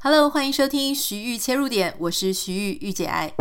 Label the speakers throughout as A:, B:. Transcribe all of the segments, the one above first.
A: Hello， 歡迎收聽徐豫切入點，我是徐豫，御姐愛。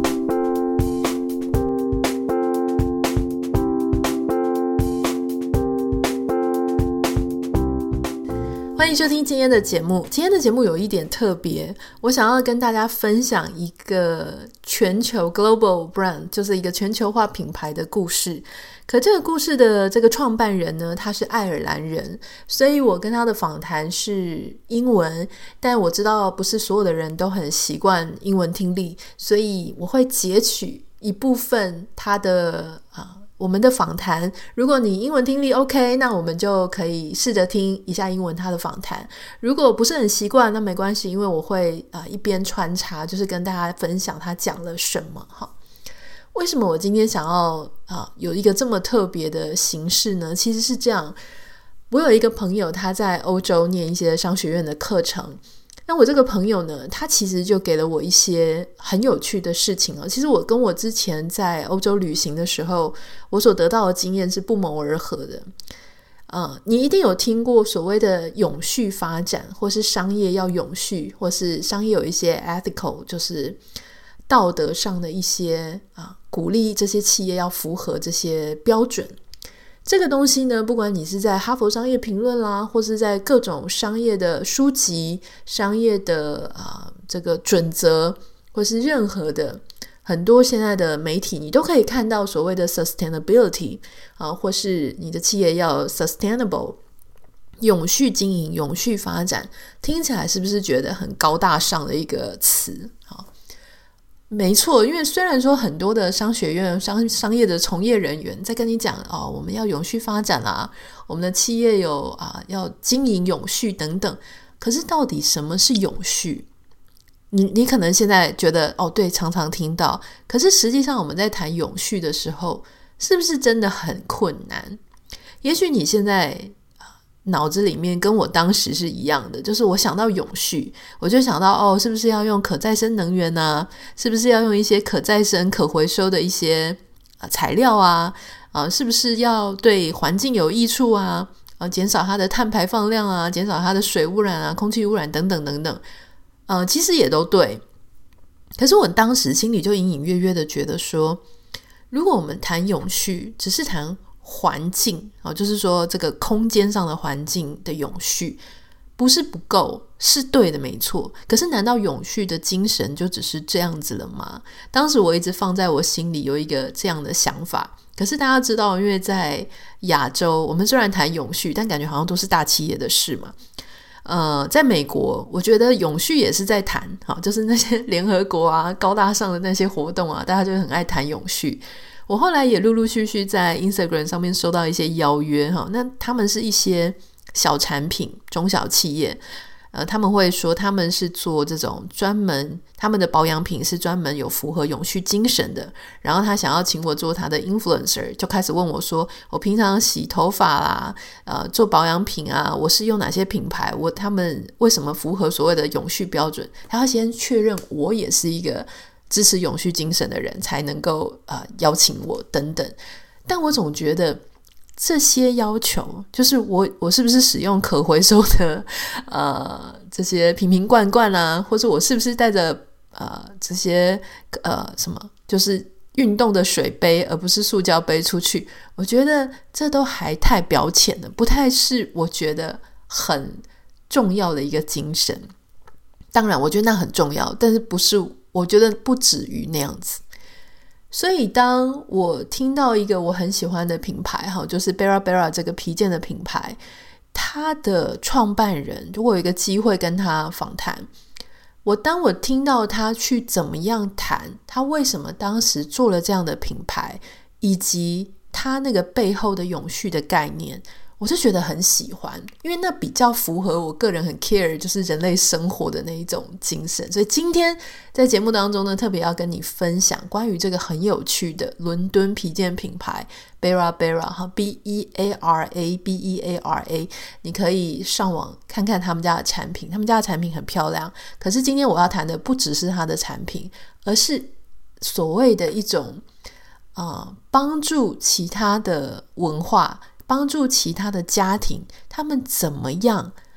A: 歡迎收聽今天的節目。今天的節目有一點特別，我想要跟大家分享一個全球 global brand， 就是一個全球化品牌的故事。可這個故事的這個創辦人呢，他是愛爾蘭人，所以我跟他的訪談是英文，但我知道不是所有的人都很習慣英文聽力，所以我會截取一部分他的我們的訪談。如果你英文聽力 OK， 那我們就可以試着聽一下英文他的訪談。如果不是很習慣，那沒關係，因為我會一邊穿插，就是跟大家分享他講了什麼哈。為什麼我今天想要有一個這麼特別的形式呢？其實是這樣，我有一個朋友，他在歐洲念一些商學院的課程。那我這個朋友呢，他其實就給了我一些很有趣的事情。其實我跟我之前在歐洲旅行的時候，我所得到的經驗是不謀而合的。你一定有聽過所謂的永續發展，或是商業要永續，或是商業有一些 ethical， 就是道德上的一些鼓勵這些企業要符合這些標準。這個東西呢，不管你是在哈佛商業評論啦，或是在各種商業的書籍、商業的這個準則，或是任何的很多現在的媒體，你都可以看到所謂的 sustainability 或是你的企業要 sustainable 永續經營、永續發展，聽起來是不是覺得很高大上的一個詞？沒錯，因為雖然說很多的商學院、商業的從業人員在跟你講我們要永續發展啦，我們的企業有要經營永續等等，可是到底什麼是永續？你可能現在覺得對，常常聽到，可是實際上我們在談永續的時候，是不是真的很困難？也許你現在腦子裡面跟我當時是一樣的，就是我想到永續，我就想到是不是要用可再生能源啊？是不是要用一些可再生可回收的一些材料啊？是不是要对環境有益處啊？減少它的碳排放量啊，減少它的水污染啊，空氣污染等等等等。其實也都對，可是我當時心裡就隱隱約約的覺得說，如果我們談永續，只是談環境就是說這個空間上的環境的永續不是不夠，是對的，沒錯。可是難道永續的精神就只是這樣子了嗎？當時我一直放在我心裡有一個這樣的想法。可是大家知道，因為在亞洲，我們雖然談永續，但感覺好像都是大企業的事嘛。在美國，我覺得永續也是在談，就是那些聯合國高大上的那些活動大家就很愛談永續。我後來也陸陸續續在 Instagram 上面收到一些邀約那他們是一些小產品、中小企業，他們會說他們是做這種專門，他們的保養品是專門有符合永續精神的，然後他想要請我做他的 influencer， 就開始問我說，我平常洗頭髮啦，做保養品我是用哪些品牌，他們為什麼符合所謂的永續標準，他要先確認我也是一個支持永續精神的人才能夠邀請我等等。但我總覺得這些要求，就是我是不是使用可回收的這些瓶瓶罐罐或者我是不是帶着這些什麼就是運動的水杯而不是塑膠杯出去，我覺得這都還太表淺了，不太是我覺得很重要的一個精神。當然我覺得那很重要，但是不是，我覺得不止於那樣子。所以當我聽到一個我很喜歡的品牌就是 Bera Bera 這個皮件的品牌，他的創辦人，如果有一個機會跟他訪談，當我聽到他去怎麼樣談他為什麼當時做了這樣的品牌，以及他那個背後的永續的概念，我就覺得很喜歡，因为那比較符合我個人很 care 就是人類生活的那一種精神。所以今天在節目當中呢，特別要跟你分享關於這個很有趣的倫敦皮件品牌 Bera Bera B-E-A-R-A B-E-A-R-A， 你可以上網看看他們家的產品，他們家的產品很漂亮。可是今天我要談的不只是他的產品，而是所謂的一種幫助其他的文化，幫助其他的家庭，他們怎麼樣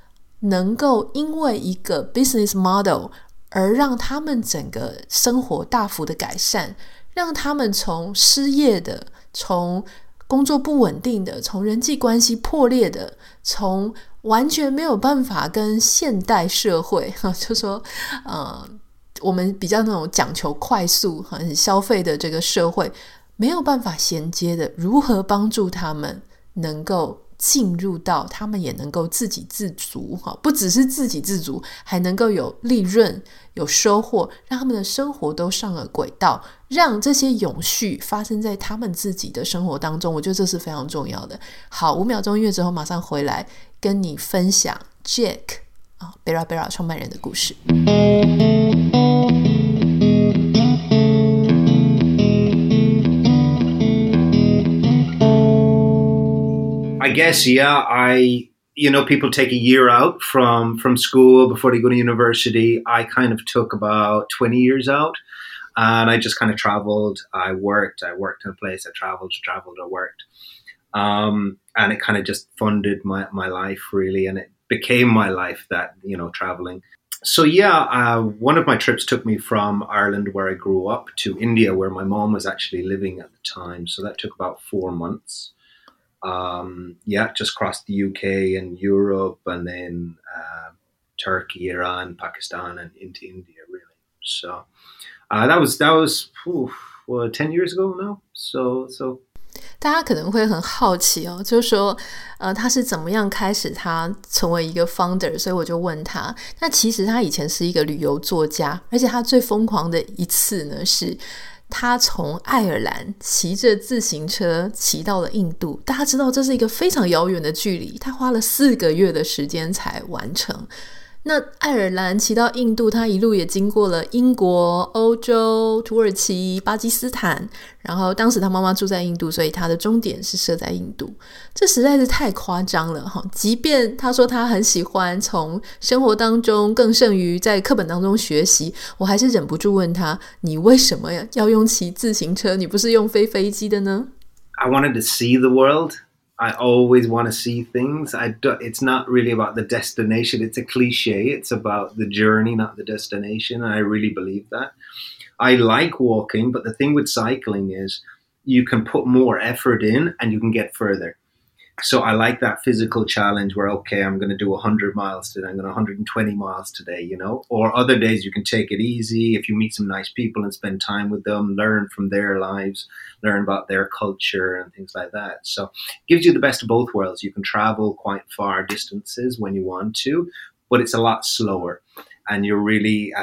A: 能夠因為一個 business model 而讓他們整個生活大幅的改善，讓他們從失業的，從工作不穩定的，從人際關係破裂的，從完全沒有辦法跟現代社會，就說我們比較那種講求快速很消費的這個社會沒有辦法銜接的，如何幫助他們能夠進入到他們也能夠自給自足，不只是自給自足，還能夠有利潤有收穫，讓他們的生活都上了軌道，讓這些永續發生在他們自己的生活當中。我覺得這是非常重要的。好，5秒鐘音樂之後馬上回來跟你分享 Jack Bera Bera 創辦人的故事。
B: I guess, yeah, people take a year out from school before they go to university. I kind of took about 20 years out, and I just kind of traveled. I worked in a place. I traveled, I worked. And it kind of just funded my life, really, and it became my life, that, traveling. So, yeah, one of my trips took me from Ireland, where I grew up, to India, where my mom was actually living at the time. So that took about 4 months. Just crossed the UK and Europe, and then Turkey, Iran, Pakistan, and into India, really. So that was 10 years ago now. So
A: 大家可能会很好奇哦，就是說他是怎麼樣開始他成為一個 founder， 所以我就問他。那其實他以前是一個旅遊作家，而且他最瘋狂的一次呢是他從愛爾蘭騎着自行車騎到了印度，大家知道這是一個非常遙遠的距離，他花了4個月的時間才完成。那愛爾蘭騎到印度，他一路也經過了英國、歐洲、土耳其、巴基斯坦，然後當時他媽媽住在印度，所以他的終點是設在印度。這實在是太誇張了哈！即便他說他很喜歡從生活當中更勝於在課本當中學習，我還是忍不住問他，你為什麼要用騎自行車？你不是用飛機的呢？
B: I wanted to see the world.I always want to see things. It's not really about the destination. It's a cliche. It's about the journey, not the destination. And I really believe that. I like walking, but the thing with cycling is you can put more effort in and you can get further. So I like that physical challenge where, okay, I'm going to do 100 miles today. I'm going to 120 miles today, Or other days you can take it easy if you meet some nice people and spend time with them, learn from their lives, learn about their culture and things like that. So it gives you the best of both worlds. You can travel quite far distances when you want to, but it's a lot slower and you're really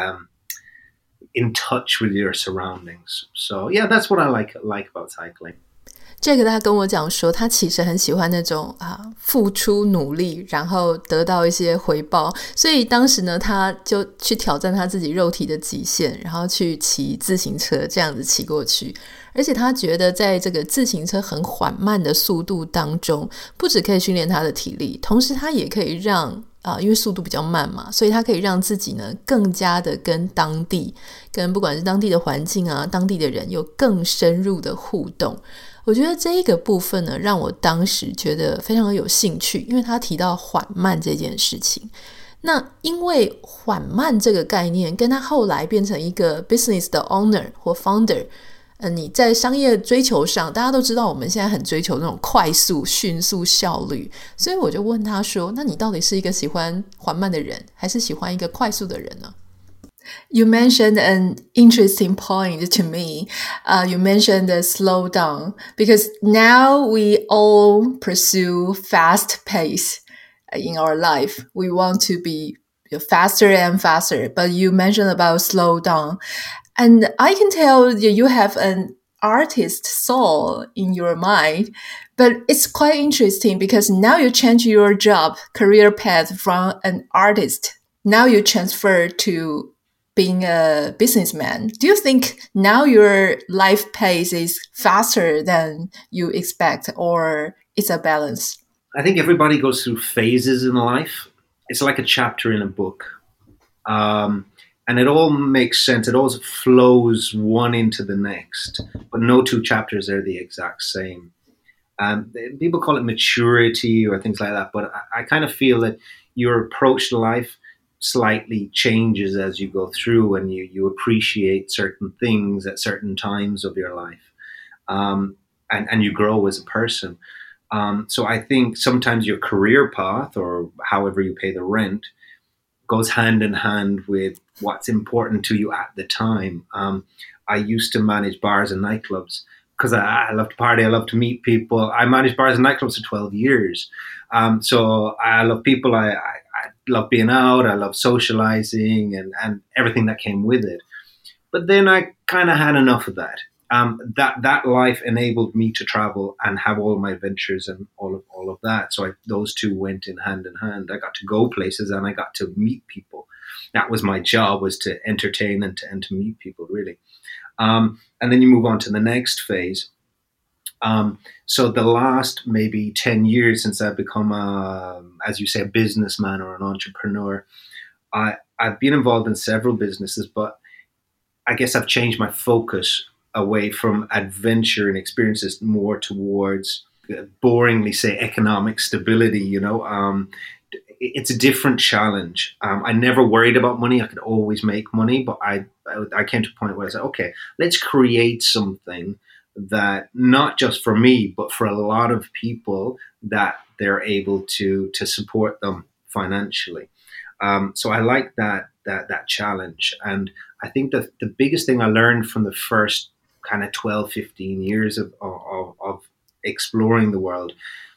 B: in touch with your surroundings. So yeah, that's what I like about cycling.
A: 这個他跟我講說，他其實很喜歡那種付出努力然後得到一些回報，所以當時呢他就去挑戰他自己肉體的極限，然後去騎自行車這樣子騎過去。而且他覺得在這個自行車很緩慢的速度當中，不只可以訓練他的體力，同時他也可以讓因為速度比較慢嘛，所以他可以讓自己呢更加的跟當地，跟不管是當地的環境當地的人有更深入的互動。我覺得這一個部分呢，讓我當時覺得非常有興趣，因為他提到緩慢這件事情。那因為緩慢這個概念，跟他後來變成一個 business 的 owner 或 founder，你在商業追求上，大家都知道我們現在很追求那種快速、迅速、效率，所以我就問他說，那你到底是一個喜歡緩慢的人，還是喜歡一個快速的人呢？You mentioned an interesting point to me. You mentioned the slow down because now we all pursue fast pace in our life. We want to be faster and faster, but you mentioned about slow down. And I can tell you have an artist soul in your mind, but it's quite interesting because now you change your job, career path from an artist. Now you transfer to being a businessman. Do you think now your life pace is faster than you expect, or it's a balance?
B: I think everybody goes through phases in life. It's like a chapter in a book. And it all makes sense. It all flows one into the next, but no two chapters are the exact same. People call it maturity or things like that, but I kind of feel that your approach to life slightly changes as you go through, and you appreciate certain things at certain times of your life, and you grow as a person. So I think sometimes your career path, or however you pay the rent, goes hand in hand with what's important to you at the time. I used to manage bars and nightclubs because I love to party. I love to meet people. I managed bars and nightclubs for 12 years. So I love people. I love being out. I love socializing and everything that came with it. But then I kind of had enough of that. That life enabled me to travel and have all my adventures and all of that. So those two went in hand. I got to go places and I got to meet people. That was my job, was to entertain and to meet people, really. And then you move on to the next phase. So the last maybe 10 years since I've become, as you say, a businessman or an entrepreneur, I've been involved in several businesses, but I guess I've changed my focus away from adventure and experiences more towards, boringly say, economic stability. It's a different challenge. I never worried about money. I could always make money, but I came to a point where I said, okay, let's create something that not just for me, but for a lot of people, that they're able to support them financially. So I like that challenge. And I think that the biggest thing I learned from the first kind of 12, 15 years of exploring the world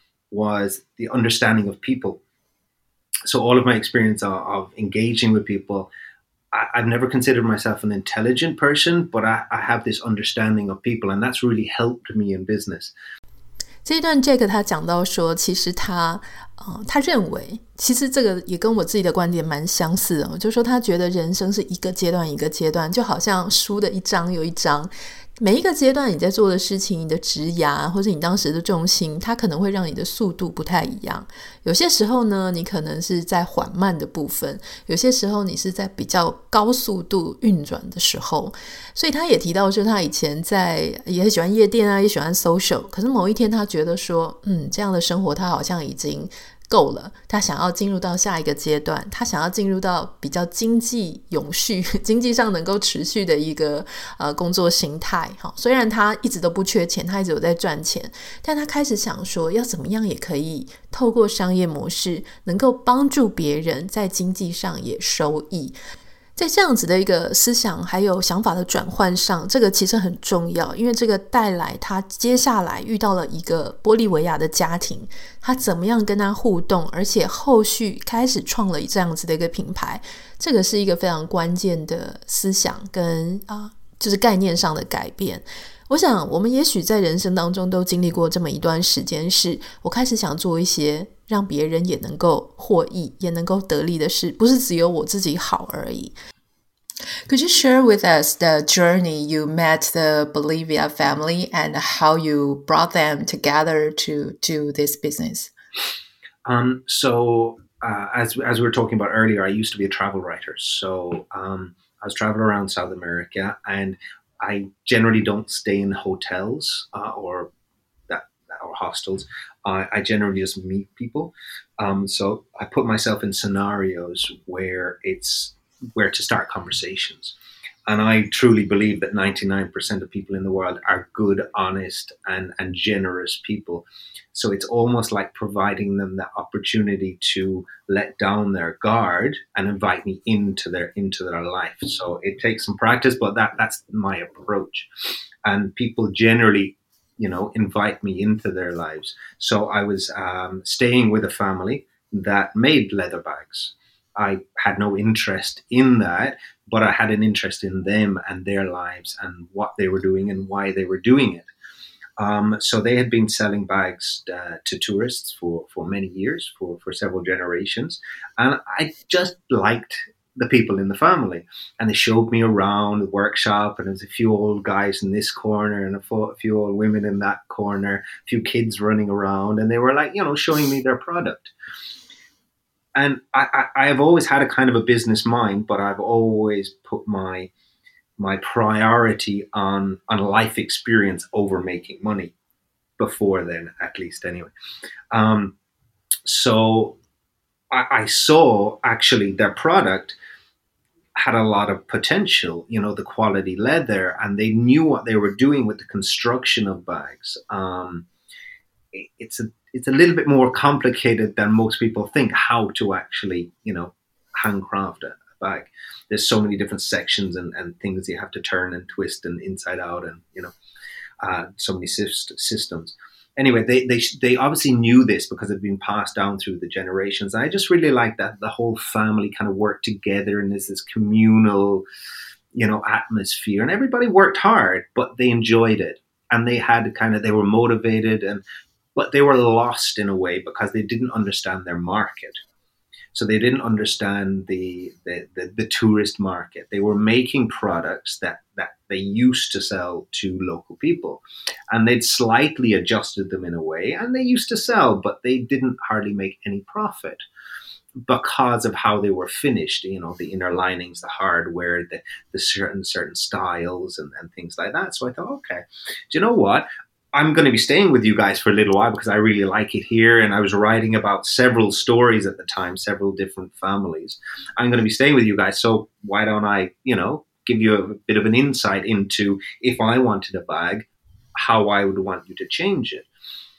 B: was the understanding of people. So all of my experience of engaging with people, I've never considered myself an intelligent person, but I have this understanding of people, and that's really helped me in business.
A: 這一段 Jack 他講到說，其實他認為，其實這個也跟我自己的觀點蠻相似的，就是說他覺得人生是一個階段一個階段，就好像書的一章又一章，每一個階段你在做的事情，你的職涯或者你當時的重心，它可能會讓你的速度不太一樣。有些時候呢，你可能是在緩慢的部分，有些時候你是在比較高速度運轉的時候。所以他也提到說，他以前也喜歡夜店啊，也喜歡 social， 可是某一天他覺得說，這樣的生活他好像已經夠了，他想要進入到下一個階段，他想要進入到比較經濟永續、經濟上能夠持續的一個工作形態。雖然他一直都不缺錢，他一直有在賺錢，但他開始想說，要怎麼樣也可以透過商業模式，能夠幫助別人在經濟上也收益。在這樣子的一個思想還有想法的轉換上，這個其實很重要，因為這個帶來他接下來遇到了一個玻利維亞的家庭，他怎麼樣跟他互動，而且後續開始創了這樣子的一個品牌，這個是一個非常關鍵的思想跟就是概念上的改變。我想我們也許在人生當中都經歷過這麼一段時間，是我開始想做一些讓別人也能夠獲益也能夠得利的事，不是只有我自己好而已。Could you share with us the journey you met the Bolivia family and how you brought them together to do this business?
B: So as we were talking about earlier, I used to be a travel writer. So I was traveling around South America, and I generally don't stay in hotels or hostels. I generally just meet people. So I put myself in scenarios where to start conversations. And I truly believe that 99% of people in the world are good, honest, and generous people. So it's almost like providing them the opportunity to let down their guard and invite me into their life. So it takes some practice, but that's my approach. And people generally, invite me into their lives. So I was staying with a family that made leather bags. I had no interest in that, but I had an interest in them and their lives and what they were doing and why they were doing it. So they had been selling bags to tourists for many years, for several generations. And I just liked the people in the family. And they showed me around the workshop, and there was a few old guys in this corner and a few old women in that corner, a few kids running around. And they were like, showing me their product. And I have always had a kind of a business mind, but I've always put my priority on life experience over making money before then, at least anyway. So I saw actually their product had a lot of potential, the quality leather, and they knew what they were doing with the construction of bags. It's a little bit more complicated than most people think how to actually, handcraft a bag. There's so many different sections and things you have to turn and twist and inside out, and so many systems. Anyway, they obviously knew this because it had been passed down through the generations. And I just really like that the whole family kind of worked together, and there's this communal, atmosphere, and everybody worked hard, but they enjoyed it, and they were motivated, but they were lost in a way because they didn't understand their market. So they didn't understand the tourist market. They were making products that they used to sell to local people, and they'd slightly adjusted them in a way, and they used to sell, but they didn't hardly make any profit because of how they were finished, the inner linings, the hardware, the certain styles and things like that. So I thought, okay, do you know what? I'm going to be staying with you guys for a little while because I really like it here. And I was writing about several stories at the time, several different families. I'm going to be staying with you guys. So why don't I, give you a bit of an insight into, if I wanted a bag, how I would want you to change it.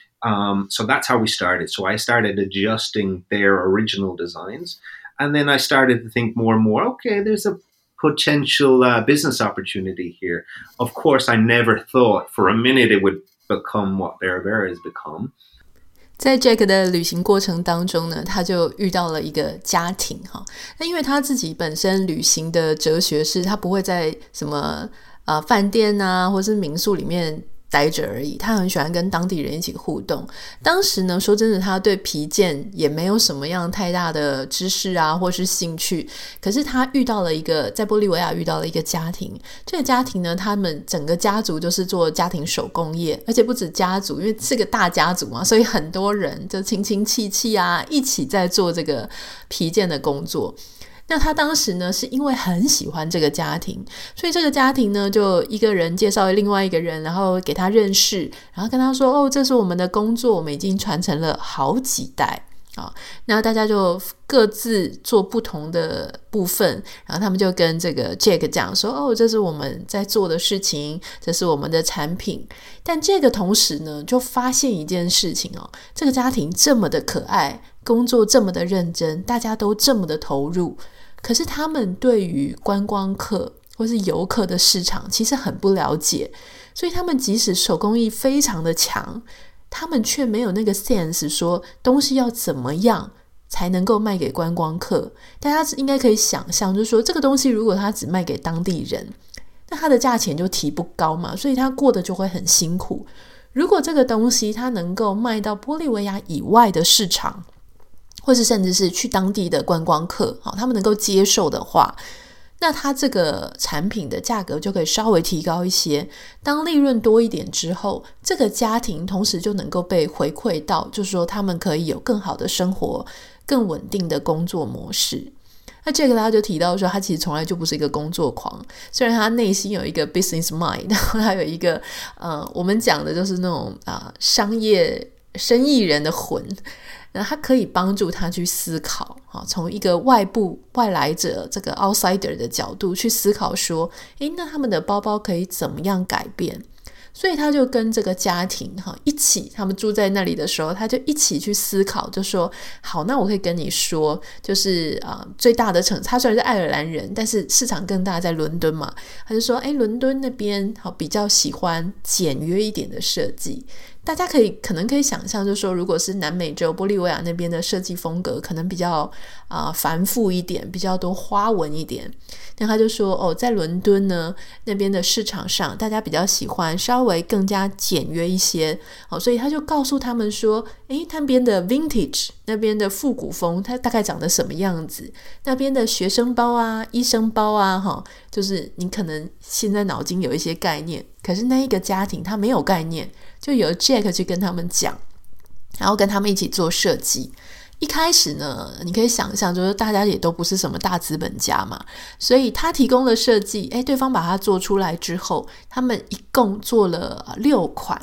B: So that's how we started. So I started adjusting their original designs. And then I started to think more and more, okay, there's a potential business opportunity here. Of course, I never thought for a minute it would become what Bera Bera has become.
A: 在 Jack 的旅行過程當中呢，他就遇到了一個家庭哈。那因為他自己本身旅行的哲學是，他不會在什麼飯店啊，或是民宿裡面待着而已，他很喜歡跟當地人一起互動。當時呢，說真的，他對皮件也沒有什麼樣太大的知識啊，或是興趣。可是他遇到了在玻利維亞遇到了一個家庭，這個家庭呢，他們整個家族就是做家庭手工業，而且不止家族，因為是個大家族嘛，所以很多人就親親戚戚啊，一起在做這個皮件的工作。那他當時呢，是因為很喜歡這個家庭，所以這個家庭呢，就一個人介紹另外一個人，然後給他認識，然後跟他說，這是我們的工作，我們已經傳承了好幾代。那大家就各自做不同的部分，然後他們就跟這個 Jack 講說，這是我們在做的事情，這是我們的產品。但這個同時呢，就發現一件事情這個家庭這麼的可愛，工作這麼的認真，大家都這麼的投入，可是他們對於觀光客或是遊客的市場其實很不了解，所以他們即使手工藝非常的強，他們卻沒有那個 sense 說東西要怎麼樣才能夠賣給觀光客。大家應該可以想象，就是說這個東西如果他只賣給當地人，那他的價錢就提不高嘛，所以他過得就會很辛苦。如果這個東西他能夠賣到玻利維亞以外的市場，或是甚至是去當地的觀光客，他們能夠接受的話，那它這個產品的價格就可以稍微提高一些。當利潤多一點之後，這個家庭同時就能夠被回饋到，就是說他們可以有更好的生活，更穩定的工作模式。那這個他就提到說，他其實從來就不是一個工作狂，雖然他內心有一個 business mind， 然後他有一個我們講的就是那種商業生意人的魂。那他可以幫助他去思考，從一個外來者這個 outsider 的角度去思考說，那他們的包包可以怎麼樣改變？所以他就跟這個家庭一起，他們住在那裡的時候，他就一起去思考，就說好，那我可以跟你說，就是最大的他雖然是愛爾蘭人，但是市場更大，在倫敦嘛，他就說倫敦那邊比較喜歡簡約一點的設計。大家可能可以想象，就是說如果是南美洲玻利維亞那邊的設計風格可能比較繁複一點，比較多花紋一點。那他就說在倫敦呢，那邊的市場上大家比較喜歡稍微更加簡約一些，所以他就告訴他們說，那邊的 vintage， 那邊的復古風它大概長得什麼樣子，那邊的學生包啊，醫生包啊，就是你可能現在腦筋有一些概念，可是那一個家庭他沒有概念，就由 Jack 去跟他們講，然後跟他們一起做設計。一開始呢，你可以想象，就是大家也都不是什麼大資本家嘛，所以他提供了設計，對方把它做出來之後，他們一共做了6款。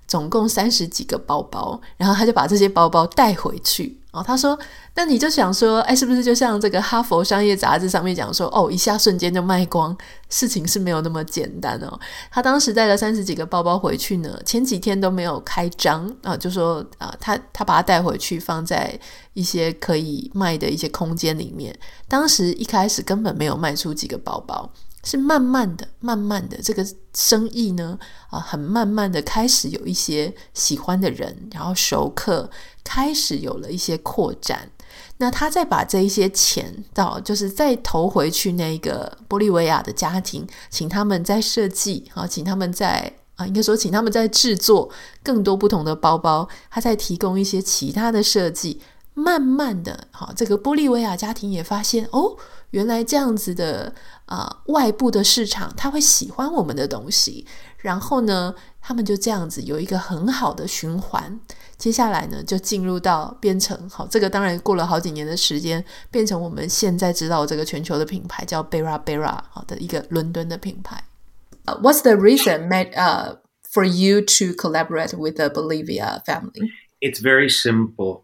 A: 總共30幾個包包，然後他就把這些包包帶回去。他說那你就想說是不是就像這個哈佛商業雜誌上面講說一下瞬間就賣光，事情是沒有那麼簡單哦。他當時帶了30幾個包包回去呢，前幾天都沒有開張就說他把它帶回去放在一些可以賣的一些空間裡面。当时一開始根本沒有賣出幾個包包，是慢慢的這個生意呢很慢慢的開始有一些喜歡的人，然後熟客，開始有了一些擴展。那他再把這一些錢就是再投回去那個玻利維亞的家庭，請他們再設計請他們再應該說請他們再制作更多不同的包包，他再提供一些其他的設計。慢慢的這個玻利維亞家庭也發現原來這樣子的外部的市場他會喜歡我們的東西，然後呢他們就這樣子有一個很好的循環。接下來呢就進入到变成這個當然過了好幾年的時間，变成我们现在知道這個全球的品牌叫 Bera Bera 的一個倫敦的品牌。What's the reason for you to collaborate with the Bolivia family?
B: It's very simple.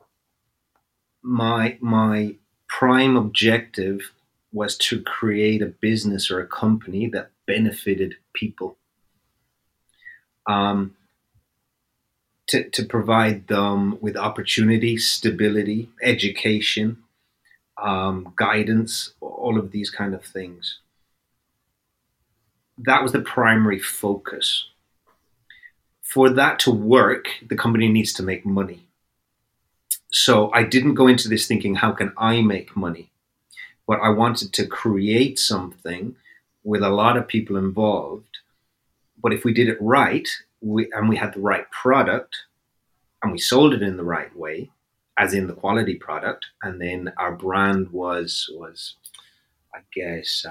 B: My prime objective was to create a business or a company that benefited people. To provide them with opportunity, stability, education, guidance, all of these kind of things. That was the primary focus. For that to work, the company needs to make money. So I didn't go into this thinking, how can I make money? But I wanted to create something with a lot of people involved. But if we did it right, we had the right product, and we sold it in the right way, as in the quality product, and then our brand was I guess,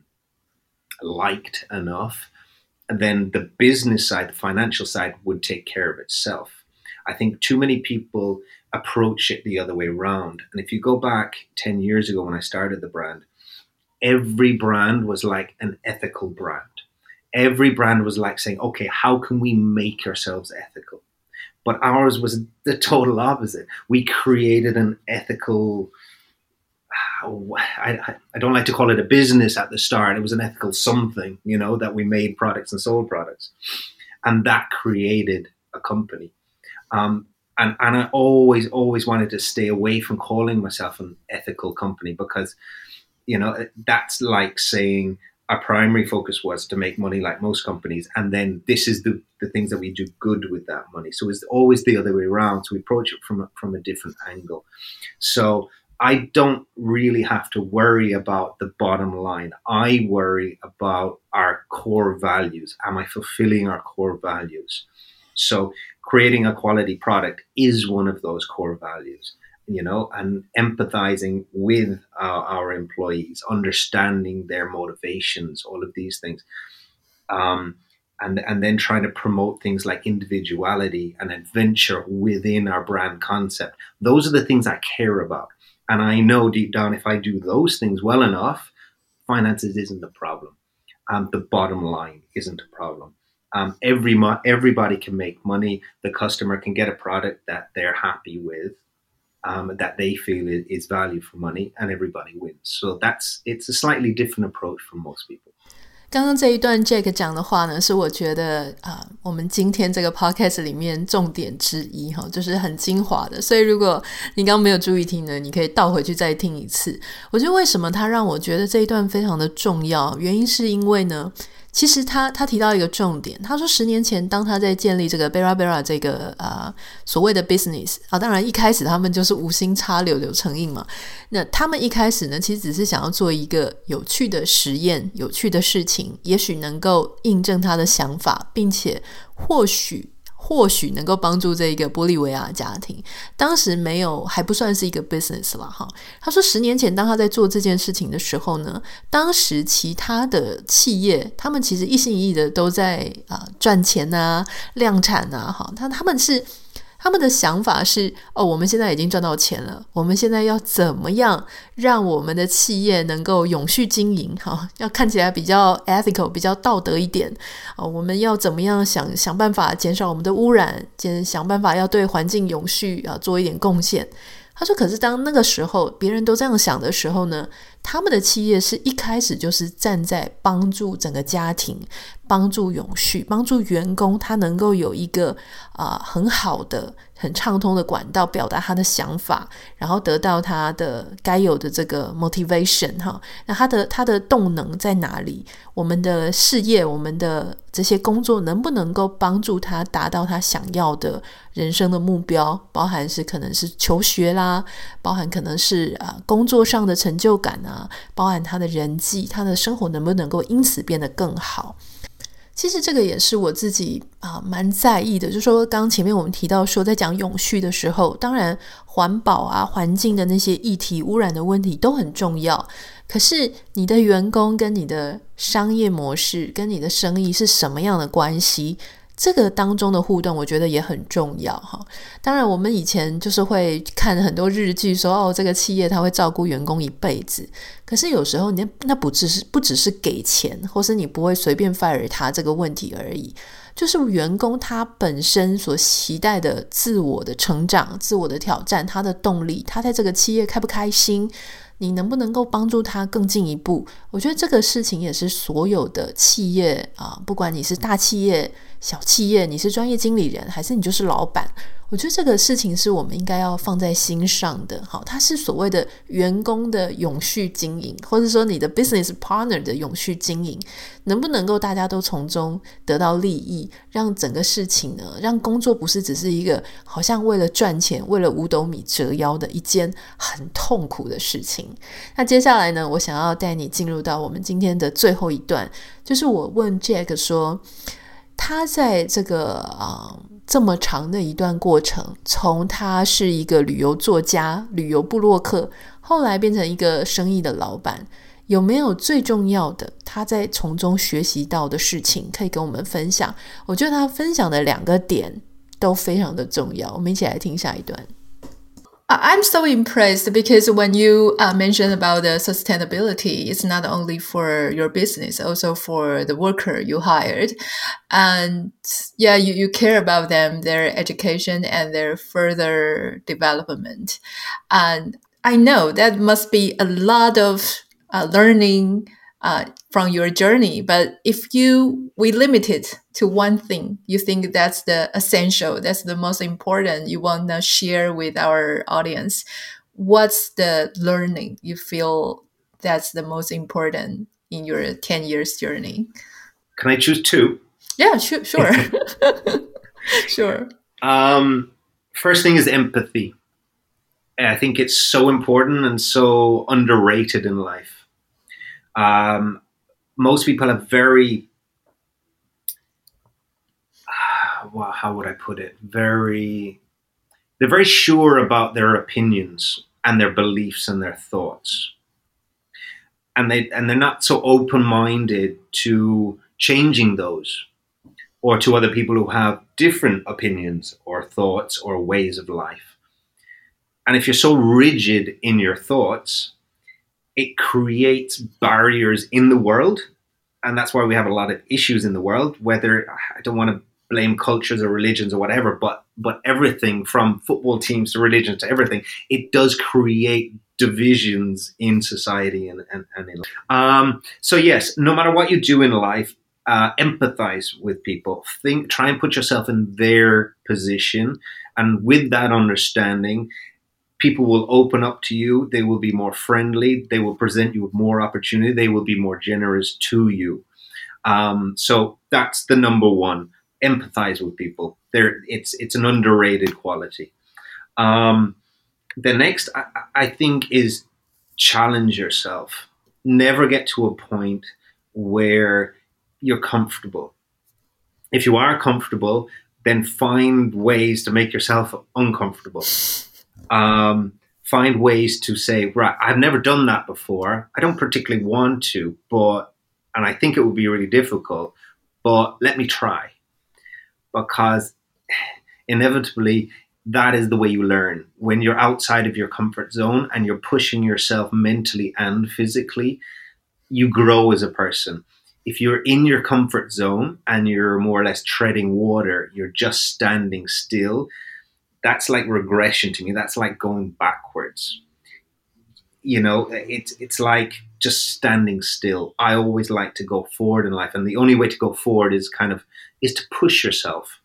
B: liked enough, and then the business side, the financial side, would take care of itself. I think too many people approach it the other way around. And if you go back 10 years ago when I started the brand, every brand was like an ethical brand. Every brand was like saying, okay, how can we make ourselves ethical? But ours was the total opposite. We created an ethical, I don't like to call it a business at the start. It was an ethical something, that we made products and sold products. And that created a company. And I always wanted to stay away from calling myself an ethical company because, that's like saying our primary focus was to make money like most companies. And then this is the things that we do good with that money. So it's always the other way around. So we approach it from a different angle. So I don't really have to worry about the bottom line. I worry about our core values. Am I fulfilling our core values? So creating a quality product is one of those core values, and empathizing with our employees, understanding their motivations, all of these things. And then trying to promote things like individuality and adventure within our brand concept. Those are the things I care about. And I know deep down, if I do those things well enough, finances isn't a problem. The bottom line isn't a problem. Everybody can make money. The customer can get a product that they're happy with, that they feel is value for money, and everybody wins. So it's a slightly different approach from most people.
A: 刚刚這一段 Jack 講的話呢，是我覺得我們今天這個 podcast 裡面重點之一，就是很精華的，所以如果你剛剛沒有注意聽呢，你可以倒回去再聽一次。我覺得為什麼他讓我覺得這一段非常的重要，原因是因為呢，其實他提到一個重點，他說10年前當他在建立這個 Bera Bera 這個所謂的 business 當然一開始他們就是無心插柳柳成蔭嘛，那他們一開始呢其實只是想要做一個有趣的實驗，有趣的事情，也許能夠印證他的想法，並且或許能夠幫助這個玻利維亞家庭，當時沒有還不算是一個 business 啦哈。他說10年前當他在做這件事情的時候呢，當時其他的企業他們其實一心一意的都在賺錢啊量產啊哈，他他們的想法是我們現在已經賺到錢了，我們現在要怎麼樣讓我們的企業能夠永續經營，要看起來比較 ethical 比較道德一點，我們要怎麼樣想辦法減少我們的污染，想辦法要對環境永續做一點貢獻。他說可是當那個時候別人都這樣想的時候呢，他們的企業是一開始就是站在幫助整個家庭，幫助永續，幫助員工他能夠有一個很好的很暢通的管道表達他的想法，然後得到他的該有的這個 motivation 那他的动能在哪裡，我們的事業我們的這些工作能不能夠幫助他達到他想要的人生的目標，包含是可能是求学啦，包含可能是工作上的成就感包含他的人際，他的生活能不能夠因此变得更好。其實这個也是我自己蠻在意的，就是說剛前面我們提到說在講永續的時候，當然環保環境的那些議題污染的問題都很重要，可是你的員工跟你的商業模式跟你的生意是什麼樣的關係，這個當中的互動我覺得也很重要當然我們以前就是會看很多日劇說這個企業它會照顧員工一輩子，可是有時候那不只是給錢，或是你不会隨便 fire 他這個問題而已，就是員工他本身所期待的自我的成長，自我的挑戰，他的动力，他在這個企業開不開心，你能不能夠幫助他更進一步，我覺得這個事情也是所有的企業不管你是大企業小企業，你是專業經理人還是你就是老闆，我覺得这個事情是我們應該要放在心上的它是所謂的員工的永續經營，或者說你的 business partner 的永續經營，能不能夠大家都從中得到利益，讓整個事情呢，讓工作不是只是一個好像為了賺錢為了五斗米折腰的一件很痛苦的事情。那接下來呢，我想要帶你進入到我們今天的最後一段，就是我問 Jack 說他在这個這麼長的一段過程，從他是一個旅遊作家旅遊部落客，後來變成一個生意的老闆，有沒有最重要的他在從中學習到的事情可以跟我們分享？我覺得他分享的兩個點都非常的重要，我們一起來聽下一段。I'm so impressed because when you mentioned about the sustainability, it's not only for your business, also for the worker you hired. And yeah, you care about them, their education and their further development. And I know that must be a lot of learning from your journey, but if we limit it to one thing, you think that's the essential, that's the most important you want to share with our audience, what's the learning you feel that's the most important in your 10 years journey?
B: Can I choose two?
A: Yeah, sure. Sure.
B: First thing is empathy. I think it's so important and so underrated in life. Most people have very, how would I put it? They're very sure about their opinions and their beliefs and their thoughts. And they're not so open-minded to changing those or to other people who have different opinions or thoughts or ways of life. And if you're so rigid in your thoughts, it creates barriers in the world. And that's why we have a lot of issues in the world, whether, I don't want to blame cultures or religions or whatever, but everything from football teams to religion to everything, it does create divisions in society and in life. So yes, no matter what you do in life, empathize with people. Try and put yourself in their position. And with that understanding, people will open up to you. They will be more friendly. They will present you with more opportunity. They will be more generous to you. So that's the number one. Empathize with people. It's an underrated quality. The next, I think, is challenge yourself. Never get to a point where you're comfortable. If you are comfortable, then find ways to make yourself uncomfortable. Find ways to say, right, I've never done that before. I don't particularly want to, and I think it would be really difficult, but let me try. Because inevitably, that is the way you learn. When you're outside of your comfort zone and you're pushing yourself mentally and physically, you grow as a person. If you're in your comfort zone and you're more or less treading water, you're just standing still, that's like regression to me. That's like going backwards. You know, it's like just standing still. I always like to go forward in life, and the only way to go forward is to push yourself.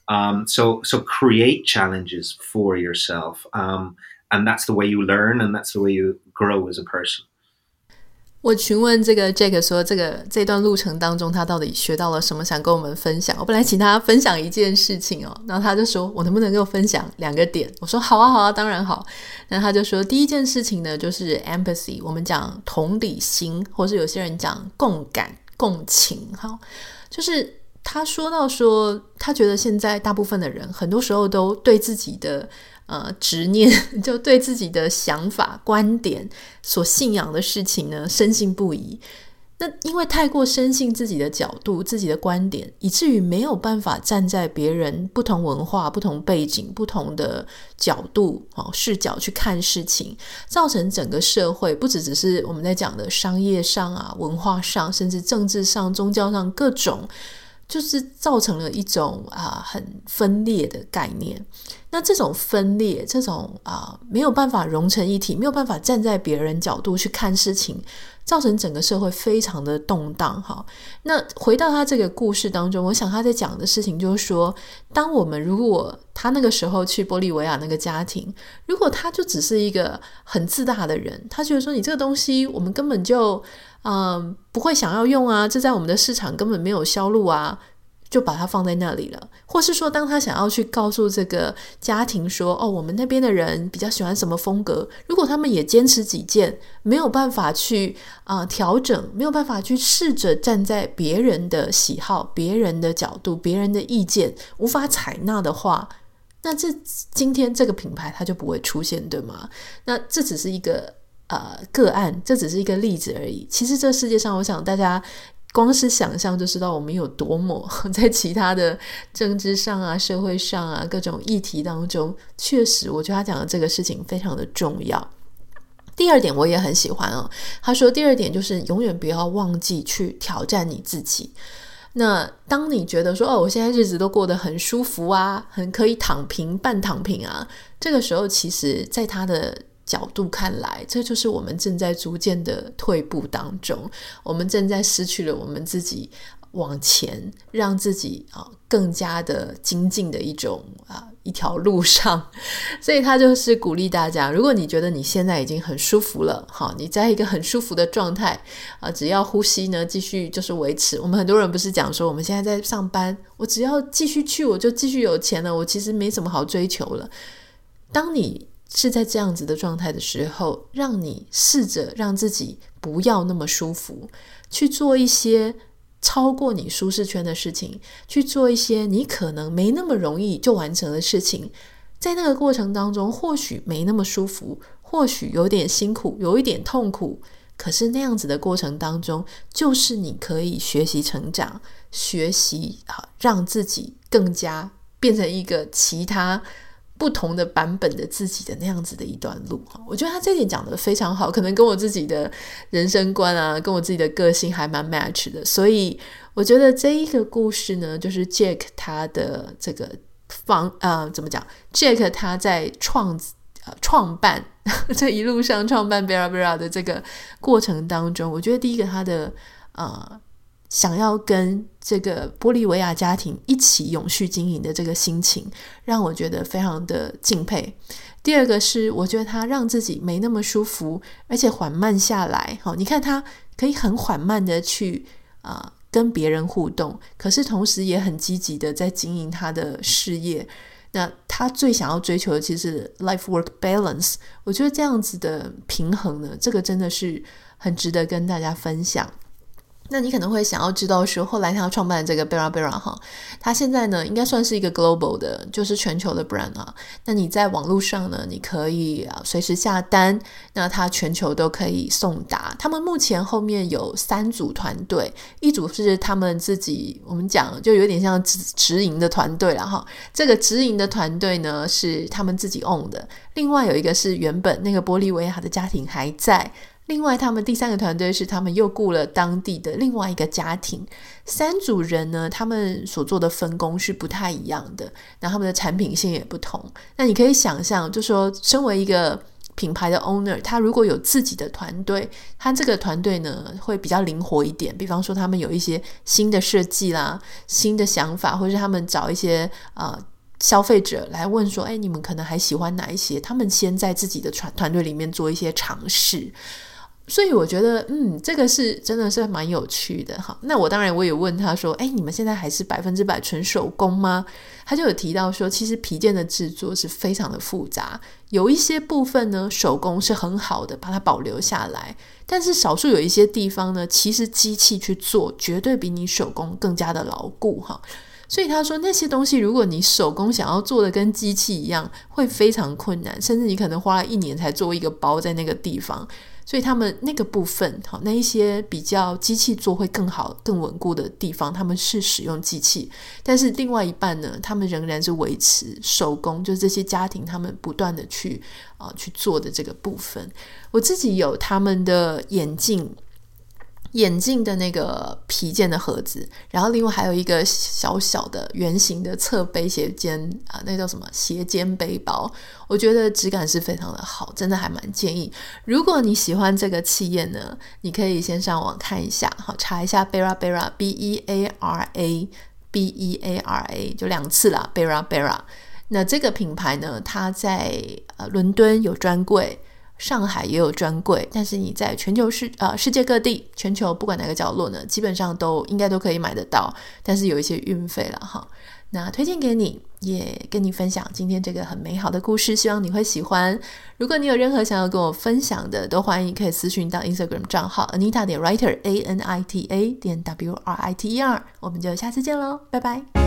B: So create challenges for yourself, and that's the way you learn, and that's the way you grow as a person.
A: 我詢問這個 Jack 說這段路程當中他到底學到了什麼，想跟我們分享。我本來請他分享一件事情哦，然後他就說我能不能夠分享2個點。我說好啊當然好。那他就說第一件事情呢就是 empathy， 我們講同理心，或是有些人講共感共情。好，就是他說到說他覺得現在大部分的人很多時候都對自己的執念，就對自己的想法觀點所信仰的事情呢深信不疑。那因為太過深信自己的角度自己的觀點，以至於沒有辦法站在別人不同文化不同背景不同的角度視角去看事情，造成整個社會不只是我們在講的商業上啊文化上甚至政治上宗教上各種，就是造成了一種很分裂的概念。那這種分裂這種沒有辦法融成一體，沒有辦法站在別人角度去看事情，造成整個社會非常的動盪。那回到他這個故事當中，我想他在講的事情就是說，當我們如果他那個時候去玻利維亞那個家庭，如果他就只是一個很自大的人，他覺得說你這個東西我們根本就不會想要用啊，這在我們的市場根本沒有銷路啊，就把它放在那裡了。或是說當他想要去告訴這個家庭說我們那邊的人比較喜歡什麼風格，如果他們也堅持己見，沒有辦法去調整，沒有辦法去試着站在別人的喜好別人的角度別人的意見無法採納的話，那今天這個品牌它就不會出現，對嗎？那這只是一個個案，這只是一個例子而已。其實這世界上我想大家光是想象就知道我們有多麼在其他的政治上啊社會上啊各種議題當中，確實我覺得他講的這個事情非常的重要。第二點我也很喜歡他說第二點就是永遠不要忘記去挑戰你自己。那當你覺得說我現在日子都過得很舒服啊，很可以躺平半躺平啊，這個時候其實在他的角度看來，這就是我們正在逐漸的退步當中，我們正在失去了我們自己往前讓自己更加的精進的一條路上。所以他就是鼓勵大家，如果你覺得你現在已經很舒服了，你在一個很舒服的狀態只要呼吸呢繼續就是維持。我們很多人不是講說我們現在在上班，我只要繼續去我就繼續有錢了，我其實沒什麼好追求了。當你是在這樣子的狀態的時候，讓你試着讓自己不要那麼舒服，去做一些超過你舒適圈的事情，去做一些你可能沒那麼容易就完成的事情。在那個過程當中或許沒那麼舒服，或許有點辛苦有一點痛苦，可是那樣子的過程當中就是你可以學習成長，學習讓自己更加變成一個其他不同的版本的自己的那樣子的一段路。我覺得他這點講得非常好，可能跟我自己的人生觀啊跟我自己的個性還蠻 match 的。所以我覺得這一個故事呢，就是 Jack 他的這個怎麼講 Jack 他在創辦這一路上創辦 Bera Bera 的這個過程當中，我覺得第一個他的想要跟這個玻利維亞家庭一起永續經營的這個心情讓我覺得非常的敬佩。第二個是我覺得他讓自己沒那麼舒服，而且緩慢下來。你看他可以很緩慢的去跟別人互動，可是同時也很積極的在經營他的事業。那他最想要追求的其實是 life work balance。 我覺得這樣子的平衡呢，這個真的是很值得跟大家分享。 那你可能會想要知道說，後來他創辦的這個 Bera Bera 哈，他現在呢應該算是一個 global 的，就是全球的 brand 啊。那你在網絡上呢，你可以隨時下單，那他全球都可以送達。他們目前後面有3組團隊，一組是他們自己，我們講就有點像直營的團隊啦哈。這個直營的團隊呢是他們自己 own 的，另外有一個是原本那個玻利維亞的家庭還在。另外他們第3個團隊是他們又雇了當地的另外一個家庭，3組人呢，他們所做的分工是不太一樣的，那他們的產品線也不同。那你可以想象，就說身為一個品牌的 owner， 他如果有自己的团队，他這個团队呢會比較靈活一點，比方說他們有一些新的設計啦，新的想法，或者是他們找一些消費者來問說，你們可能還喜歡哪一些，他們先在自己的团队裡面做一些嘗試。所以我覺得這個是真的是蠻有趣的哈。那我當然我也問他說，你們現在還是100%純手工嗎？他就有提到說，其實皮件的制作是非常的複雜，有一些部分呢手工是很好的，把它保留下来，但是少數有一些地方呢，其實機器去做絕对比你手工更加的牢固哈。所以他說那些東西如果你手工想要做的跟機器一樣，會非常困難，甚至你可能花了1年才做一個包在那個地方。所以他们那個部分那一些比較機器做會更好更穩固的地方，他們是使用機器，但是另外一半呢，他們仍然是維持手工，就是這些家庭他們不斷的去做的這個部分。我自己有他們的眼鏡的那個皮件的盒子，然後另外還有一個小小的圓形的側背斜肩那叫什麼斜肩背包，我覺得質感是非常的好，真的還蠻建議，如果你喜歡這個企業呢，你可以先上網看一下，查一下 Bera Bera B-E-A-R-A B-E-A-R-A 就2次啦 Bera Bera。 那這個品牌呢，它在倫敦有專櫃，上海也有專櫃，但是你在全球世界各地，全球不管哪個角落呢，基本上应該都可以買得到，但是有一些運費啦哈。那推薦給你，也跟你分享今天這個很美好的故事，希望你會喜歡。如果你有任何想要跟我分享的，都歡迎可以私訊到 Instagram 賬號 Anita.Writer ANITA.WRITER。我們就下次見咯，拜拜。